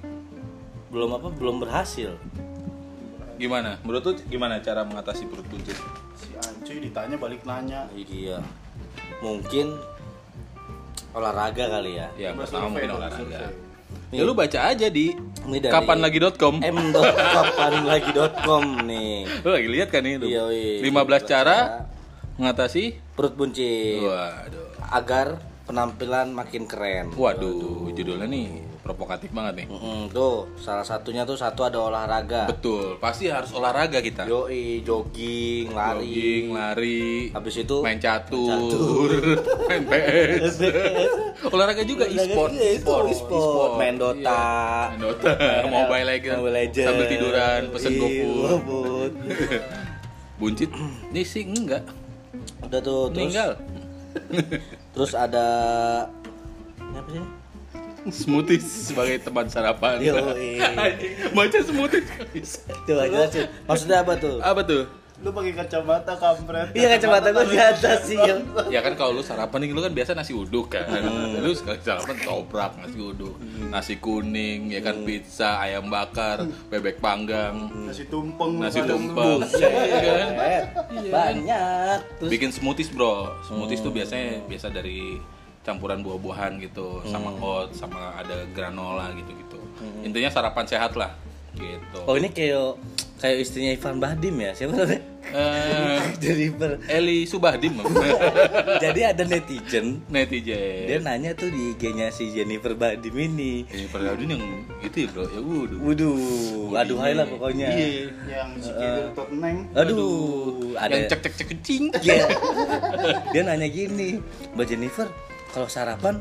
S1: belum berhasil.
S3: Gimana? Menurut lu gimana cara mengatasi perut buncit?
S2: Si Ancuy ditanya balik nanya.
S1: Iya. Mungkin olahraga kali ya.
S3: Ya,
S2: Coba
S3: pertama mungkin
S2: dong,
S3: olahraga.
S2: survei.
S3: Ya lu baca aja di
S1: Ini dari
S3: kapanlagi.com.
S1: m.kapanlagi.com nih.
S3: Lu lagi lihat kan ini?
S1: Iya, iya.
S3: 15 cara mengatasi.
S1: Perut buncit
S3: Waduh.
S1: agar penampilan makin keren.
S3: Waduh, judulnya nih provokatif banget nih.
S1: Tuh, salah satunya tuh ada olahraga.
S3: Betul, pasti harus olahraga kita.
S1: Yoi, jogging, lari.
S3: Jogging, lari,
S1: Habis itu
S3: main catur, main PS. Olahraga juga e-sport,
S1: Iya, itu e-sport. Main Dota.
S3: Iya. Main Dota, Mobile Legends, sambil tiduran, pesen
S1: Iya,
S3: GoFood.
S1: GoFood.
S3: Buncit, nih sih enggak,
S1: Udah tuh, terus
S3: meninggal.
S1: terus ada ini apa sih?
S3: Smoothies sebagai teman sarapan.
S1: Yoi.
S3: Baca smoothies.
S1: Coba jelasin. Maksudnya apa tuh?
S3: Apa tuh?
S2: Lu pakai kacamata kampret.
S1: Iya, kacamata gua di atas sih. Yo.
S3: Ya kan kalau lu sarapan nih lu kan biasa nasi uduk kan. Lu sekali sarapan toprak nasi uduk, nasi kuning, ya kan pizza, ayam bakar, bebek panggang,
S2: Nasi tumpeng.
S3: nasi
S2: ada
S3: tumpeng.
S1: Buset.
S3: Iya kan?
S1: Banyak. Terus
S3: Bikin smoothies, Bro. Smoothies tuh biasa dari campuran buah-buahan gitu, sama oats, sama ada granola gitu-gitu. Intinya sarapan sehat lah gitu.
S1: oh, ini kayak istrinya Ivan Bahdim ya. Siapa namanya? Jennifer.
S3: Eli Subahdim.
S1: Jadi ada netizen dia
S3: Netizen.
S1: nanya tuh di IG-nya si Jennifer Bahdim ini.
S3: Ini Perdadun yang itu ya, Bro. Ya waduh.
S1: Waduh, aduhai lah pokoknya.
S3: Iya.
S2: Yang si Kidul tot neng.
S1: Aduh, ada
S3: Yang cek-cek kecing.
S1: Iya. Dia nanya gini, Mbak Jennifer, kalau sarapan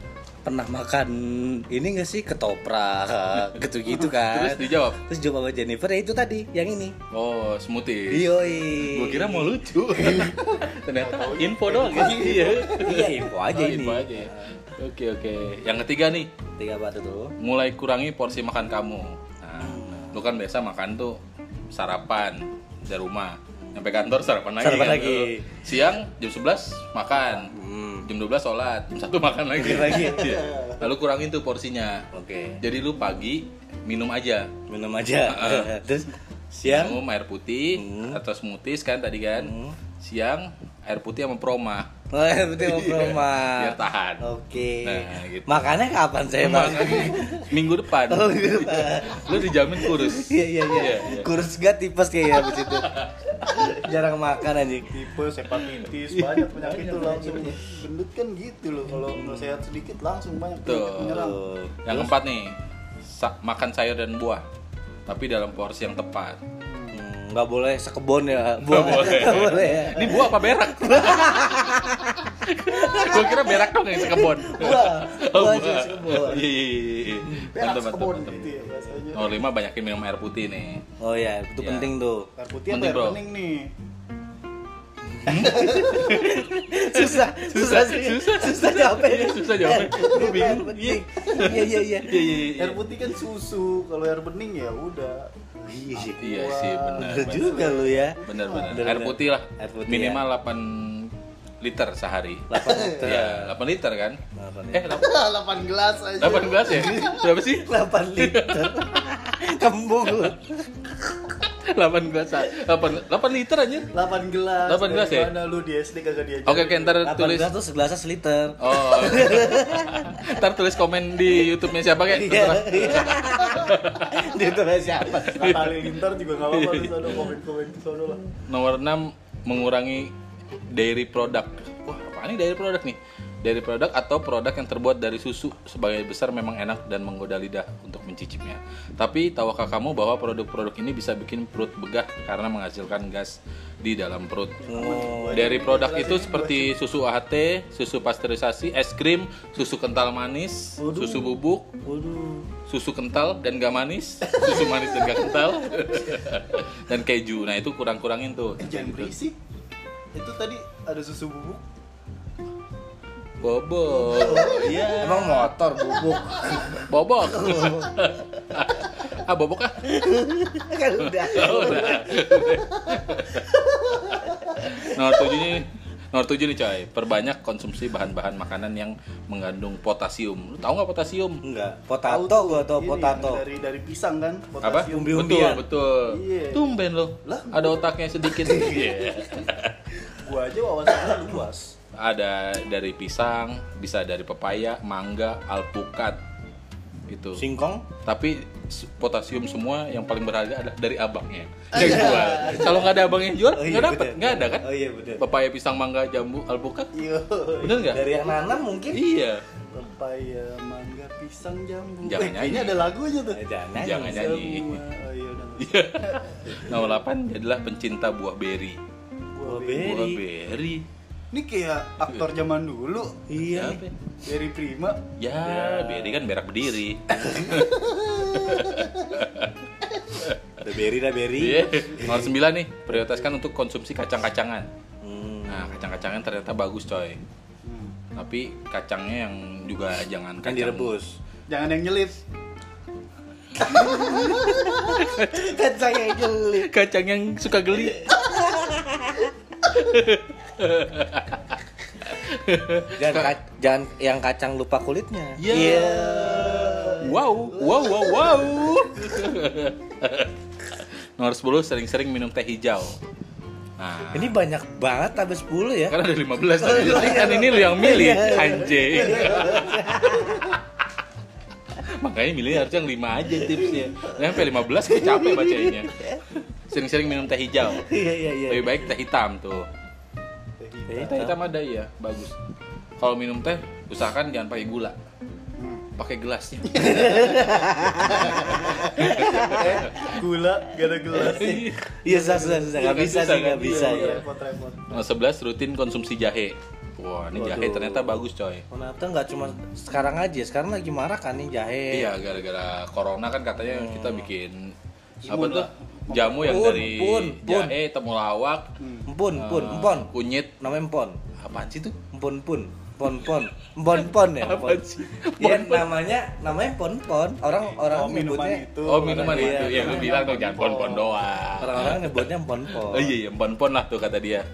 S1: pernah makan ini nggak sih ketoprak gitu-gitu kan?
S3: Terus dijawab.
S1: Terus jawab sama Jennifer ya itu tadi yang ini.
S3: Oh, smoothie.
S1: Yoi.
S3: Gua kira mau lucu. Ternyata info doang ya. Iya.
S1: Iya info aja ini.
S3: Info aja. Oke. Yang ketiga nih,
S1: Tiga apa tuh?
S3: mulai kurangi porsi makan kamu. Nah, lu kan biasa makan tuh sarapan dari rumah. Sampai kantor sarapan lagi.
S1: Sarapan
S3: kan,
S1: lagi.
S3: tuh. Siang jam 11 makan. Jam 12 sholat, jam 1 makan lagi. Iya. Lalu kurangin tuh porsinya.
S1: Oke.
S3: Jadi lu pagi minum aja.
S1: Minum aja. Terus siang
S3: Minum air putih atau smoothies kan tadi kan. Siang air putih sama proma.
S1: oh, betul Proma.
S3: Biar tahan.
S1: Oke.
S3: Nah, gitu.
S1: Makannya kapan saya makan?
S3: Minggu depan.
S1: Oh, minggu depan.
S3: Lu dijamin kurus.
S1: Iya. Kurus gak tipes kayaknya abis itu. Jarang makan anjing.
S2: Tipes, hepatitis, banyak penyakit tuh langsung. Gendut kan gitu loh, kalau nggak sehat sedikit langsung banyak penyakit
S3: Tuh.
S2: menyerang.
S3: Yang keempat nih, makan sayur dan buah. Tapi dalam porsi yang tepat.
S1: Nggak boleh sekebon ya. Buah
S3: boleh.
S1: Nggak boleh ya.
S3: Ini buah apa berak? Gua kira berak dong yang sekebon.
S1: Buah aja sekebon.
S3: Iya.
S2: Berak
S3: Mantap,
S2: sekebon
S3: mantap.
S2: gitu ya bahasanya.
S3: Nomor 5 banyakin minum air putih nih.
S1: Oh ya, itu
S3: Iya.
S1: penting tuh.
S2: Air putih apa
S3: Penting,
S2: air
S3: bro.
S2: bening nih?
S1: Susah jawabnya.
S3: Susah jawabnya. Gua bingung.
S1: Iya.
S2: Air putih kan susu, kalau air bening ya udah.
S3: Iya sih, benar.
S1: Bener juga lu ya.
S3: Benar.
S1: Bener.
S3: Air putih lah.
S1: Air putih,
S3: Minimal 8 liter sehari.
S1: 8 liter.
S3: Iya, 8 liter kan?
S2: 8 gelas aja.
S3: 8 gelas ya? Berapa sih?
S1: 8 liter. Kembung lu.
S3: 8 gelas. 8 liter aja.
S2: 8 gelas.
S3: 8 gelas ya?
S2: Mana lu di SD kagak diajarin?
S3: Oke, ntar
S1: 8
S3: tulis.
S1: gelas tuh segelasnya seliter.
S3: Oh. Ntar tulis komen di YouTube-nya siapa kayak.
S1: Iya. Dia tuh siapa?
S2: Nah, Halilintar juga nggak apa-apa, lu sana komen-komen ke sono lah.
S3: Nomor 6 mengurangi dairy product. Wah, apaan nih dairy product nih? Dairy product atau produk yang terbuat dari susu sebagai besar memang enak dan menggoda lidah untuk mencicipnya. Tapi tahukah kamu bahwa produk-produk ini bisa bikin perut begah karena menghasilkan gas di dalam perut. Dairy produk itu seperti susu AHT, susu pasteurisasi, es krim, susu kental manis, susu bubuk, susu kental dan gak manis, susu manis dan gak kental, dan keju. Nah itu kurang-kurangin tuh.
S2: Jangan berisik. Itu tadi ada susu bubuk.
S3: Bobok. Iya.
S1: Emang motor bubuk.
S3: Bobok. Bobok ah.
S1: Kan udah.
S3: Nomor 7 nih coy. Perbanyak konsumsi bahan-bahan makanan yang mengandung potasium. Lu tahu nggak potasium?
S1: Enggak. Potato gua tau
S2: Ini
S1: potato.
S2: dari pisang kan,
S3: Apa?
S2: potasium.
S1: Umbi-umbian.
S3: Betul.
S2: Iya.
S3: Tumben lo.
S2: Lah?
S3: Ada otaknya sedikit. Iya.
S2: Gua aja wawasannya luas.
S3: Ada dari pisang, bisa dari pepaya, mangga, alpukat. Itu.
S1: Singkong.
S3: Tapi potasium semua yang paling berharga adalah dari abangnya yang jual. Kalau nggak ada abang yang jual,
S1: Oh, iya,
S3: nggak dapet,
S1: bener.
S3: nggak ada kan?
S1: Oh iya bener.
S3: Pepaya, pisang, mangga, jambu, alpukat,
S2: Iya.
S3: bener nggak?
S1: Dari yang nanam mungkin.
S3: Iya.
S2: Pepaya, mangga, pisang, jambu.
S3: Jangan
S2: Kayaknya
S3: nyanyi.
S2: ada lagunya tuh.
S1: Jangan.
S3: Jangan nyanyi.
S2: Semua. Oh iya udah.
S3: Nomor 8 adalah pencinta buah beri.
S2: Buah
S1: Beri.
S3: Buah beri.
S2: Ini kayak aktor zaman dulu.
S1: Iya.
S3: Siapa?
S2: Dari Prima.
S3: Ya, beri kan berak berdiri.
S1: Ada beri dah beri.
S3: Iya. Nomor 9 nih, prioritaskan untuk konsumsi kacang-kacangan. Nah, kacang-kacangan ternyata bagus coy. Tapi kacangnya yang juga jangan
S1: Kan
S3: kacang
S1: direbus.
S2: Jangan yang nyelip.
S1: Kacang yang geli.
S3: Kacang yang suka geli.
S1: Jangan yang kacang lupa kulitnya.
S3: Iya. Wow. Nomor 10 sering-sering minum teh hijau. Nah,
S1: Ini banyak banget habis 10 ya.
S3: kan ada 15 tadi. Kan ini lu yang milih, anjing. Makanya milih harus yang 5 aja tipsnya. Nah, sampai 15 gue capek bacanya. Sering-sering minum teh hijau.
S1: Iya.
S3: Lebih baik teh hitam tuh. Teh hitam ada ya, bagus. Kalau minum teh, usahakan jangan pakai gula. Pakai gelasnya.
S2: Gula, gak ada gelas.
S1: Iya susah. Nggak bisa sih, nggak bisa ya.
S2: Repot-repot.
S3: Nomor 11 rutin konsumsi jahe. Wah, ini jahe ternyata bagus coy.
S1: Ternyata nggak cuma sekarang aja, sekarang lagi marak kan nih jahe.
S3: Iya, gara-gara corona kan katanya kita bikin apa
S2: Imun
S3: tuh?
S2: lah.
S3: Jamu yang
S1: Pun,
S3: dari
S1: pun.
S3: jahe, temulawak,
S1: Empon,
S3: kunyit.
S1: namanya empon.
S3: Apaan sih tuh?
S1: Empon ya.
S3: Apaan sih?
S1: Iya, namanya pon. Orang
S2: minuman
S1: nyebutnya
S2: itu.
S3: Oh, minuman
S1: Iya,
S3: itu. Ya lu bilang dong jangan pon-pon doang.
S1: orang-orang nyebutnya pon.
S3: Oh iya, pon-pon lah tuh kata dia.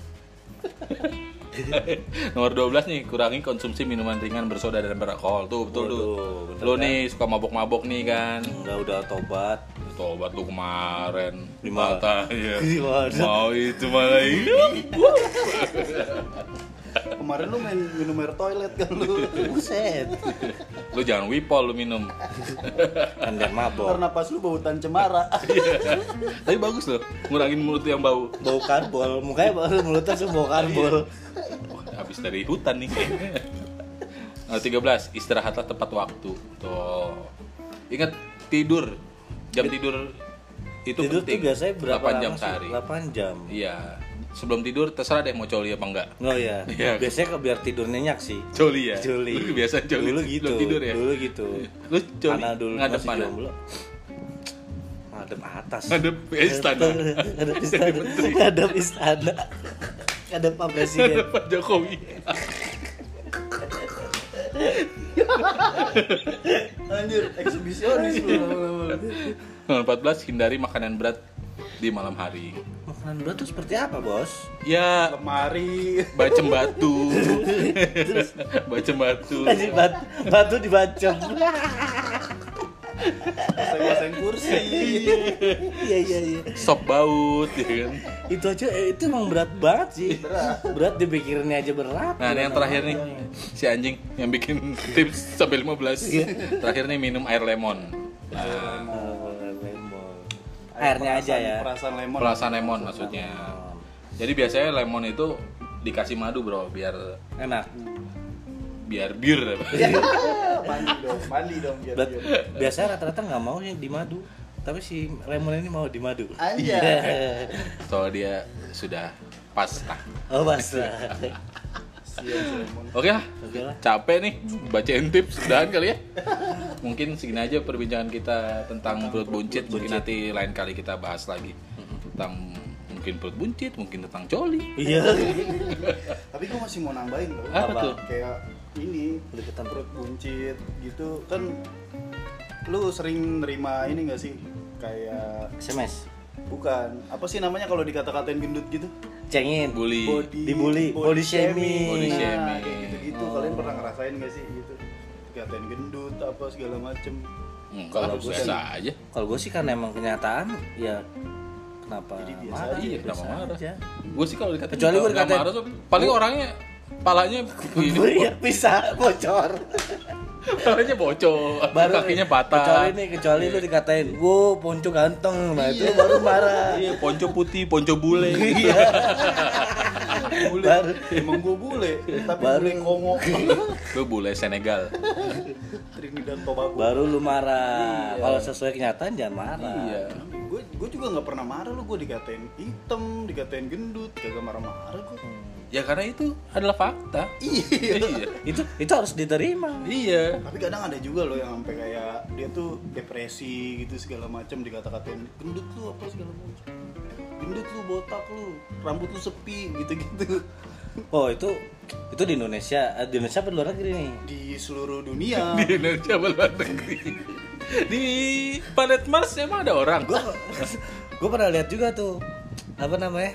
S3: Nomor 12 nih, kurangi konsumsi minuman ringan bersoda dan beralkohol. Tuh, betul tuh.
S1: Waduh, bener
S3: Lu
S1: kan?
S3: nih suka mabok-mabok nih kan.
S1: Udah tobat.
S3: Tobat lu kemarin.
S1: Gimana?
S3: Katanya.
S1: Gimana?
S3: Mau itu malah hidup.
S2: Kemarin lu main minum air toilet kan lu.
S1: Buset.
S3: Lu jangan wipol lu minum.
S1: Kan dia mabok.
S2: Karena pas lu bautan cemara.
S3: Tapi bagus loh, ngurangin mulut yang bau.
S1: Bau karbol, mukanya mulutnya tuh bau karbol.
S3: Wah, habis dari hutan nih. Nah, 13, istirahatlah tepat waktu. Tuh. Ingat tidur. Jam tidur itu
S1: Tidur tuh
S3: penting.
S1: biasanya berapa
S3: 8 jam
S1: lama sih?
S3: sehari.
S1: 8 jam.
S3: Iya. Sebelum tidur terserah deh mau coli apa enggak.
S1: Oh iya.
S3: Iya.
S1: Biasanya biar tidur nyenyak sih.
S3: Coli ya.
S1: Coli.
S3: Lu biasa coli.
S1: Dulu gitu.
S3: Sebelum tidur ya.
S1: Dulu gitu.
S3: Lu coli
S1: Karena dulu
S3: ngadep
S1: masih
S3: mana?
S1: jomblo. Ngadep atas.
S3: Ngadep istana.
S1: Ngadep istana. Ngadep istana. Ngadep Pak Presiden.
S3: Pak Jokowi.
S2: Anjir, eksibisionis lu.
S3: Nomor 14, hindari makanan berat di malam hari.
S1: Makanan berat tuh seperti apa, Bos?
S3: Ya,
S2: Lemari.
S3: bacem batu. Bacem batu.
S1: Batu dibacem.
S2: Pasang kursi.
S1: Iya.
S3: Sop baut ya kan.
S1: Itu aja itu emang berat banget sih. Berat dipikirinnya aja berat.
S3: Nah, ini yang terakhir nih. Si anjing yang bikin tips sampai 15. Terakhir nih minum air lemon. Nah,
S1: Airnya aja ya.
S2: Perasaan lemon.
S3: perasan lemon maksudnya. Jadi biasanya lemon itu dikasih madu, Bro, biar
S1: Enak.
S3: bir.
S2: Mandi dong biar.
S1: Biasanya rata-rata nggak mau yang di madu. Tapi si lemon ini mau di madu.
S2: Anjay.
S3: Soalnya dia sudah pas lah.
S1: Oh basah.
S2: Sian si lemon.
S3: Oke lah.
S1: Oke lah.
S3: Capek nih bacain tips udahan kali ya. Mungkin segini aja perbincangan kita tentang perut buncit. Mungkin nanti lain kali kita bahas lagi tentang mungkin perut buncit, mungkin tentang coli.
S1: Iya.
S2: Tapi gue masih mau nambahin loh.
S3: Apa tuh?
S2: Kayak ini
S1: Deketan
S2: perut buncit gitu kan. Lu sering nerima ini gak sih? Kayak
S1: SMS.
S2: bukan. Apa sih namanya kalau dikata-katain gendut gitu?
S1: Cengin.
S3: Bully.
S1: Dibully. Body shaming.
S3: Body
S2: Nah,
S3: shaming.
S2: kayak gitu-gitu.
S1: Oh.
S2: Kalian pernah ngerasain gak sih gitu? Dikatain gendut apa segala macem.
S3: Enggak,
S1: Kalau
S3: harus
S1: gua
S3: biasa
S1: sih-
S3: aja.
S1: Kalau gue sih karena emang kenyataan ya kenapa
S2: Jadi biasa
S1: marah?
S2: aja,
S3: Iya, kenapa
S1: Biasa
S3: marah?
S1: aja.
S3: Gue sih kalau dikatain
S1: Kecuali gua
S3: nggak
S1: dikatain-
S3: marah tuh paling orangnya palanya ini
S1: Iya, bisa bocor.
S3: palanya bocor, kakinya patah.
S1: Kecuali lu dikatain, "Wow, ponco ganteng." Nah, itu baru marah.
S3: Iya, ponco putih, ponco bule.
S1: Iya.
S2: Bule.
S1: Baru.
S2: Emang gue bule, tapi
S1: Baru.
S2: bule Kongo.
S3: Lu bule Senegal.
S2: Trinidad Tobago.
S1: Baru lu marah. Kalau sesuai kenyataan jangan marah.
S3: Iya.
S2: Gue juga nggak pernah marah lu, gue dikatain hitam, dikatain gendut, kagak marah-marah gue.
S3: Ya karena itu adalah fakta.
S2: Iya.
S1: Itu harus diterima.
S3: Iya.
S2: Tapi kadang ada juga loh yang sampai kayak dia tuh depresi gitu segala macam, dikata-katain gendut lu apa segala macam. Gendut lu, botak lu, rambut lu sepi gitu-gitu.
S1: Oh, itu di Indonesia. Di Indonesia apa di luar negeri nih?
S2: Di seluruh dunia.
S3: Di Indonesia luar negeri. Di planet Mars emang ada orang.
S1: Gue pernah lihat juga tuh apa namanya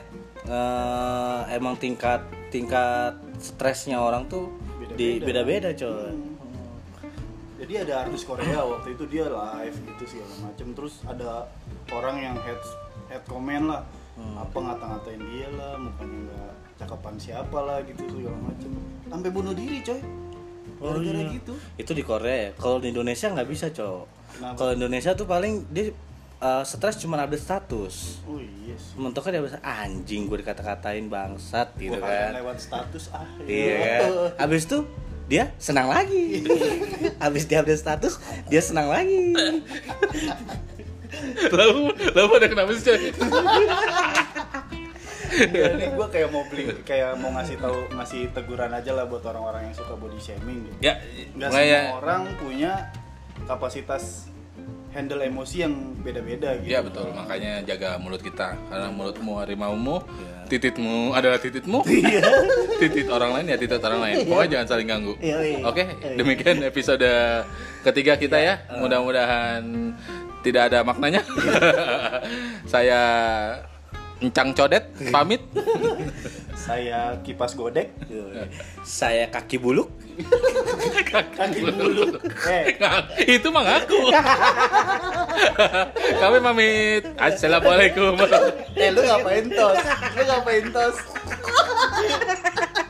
S1: emang tingkat stresnya orang tuh beda-beda coy.
S2: Jadi ada artis Korea waktu itu dia live gitu segala macem, terus ada orang yang head comment lah, apa ngata-ngatain dia lah, mukanya nggak cakapan siapa lah gitu segala macem, sampai bunuh diri coy. Gara-gara gitu.
S1: Itu di Korea. Kalau di Indonesia nggak bisa coy.
S2: Kenapa?
S1: Kalau Indonesia tuh paling dia stres cuma update status.
S2: Oh iya sih.
S1: Mentoknya dia bisa anjing gue dikata-katain bangsat gitu
S2: Gua
S1: kan.
S2: lewat status
S1: Iya kan. Habis itu dia senang lagi. Habis dia update status, dia senang lagi.
S3: Lalu ada kenapa sih, coy?
S2: Enggak, nih gue kayak mau ngasih teguran aja lah buat orang-orang yang suka body shaming gitu.
S3: Ya,
S2: Nggak
S3: mulai
S2: semua
S3: ya.
S2: orang punya kapasitas handle emosi yang beda-beda gitu.
S3: Iya betul, makanya jaga mulut kita karena mulutmu harimaumu,
S1: Iya.
S3: tititmu adalah tititmu, titit orang lain ya titit orang lain. Pokoknya jangan saling ganggu.
S2: Iya.
S3: Oke, demikian episode ketiga kita ya. Mudah-mudahan tidak ada maknanya. Saya Encang Codet pamit.
S2: Saya kipas godek.
S1: Saya kaki buluk.
S2: Kaki bulu.
S3: Itu mah ngaku. Kami pamit. Assalamualaikum.
S2: Lu ngapain tos?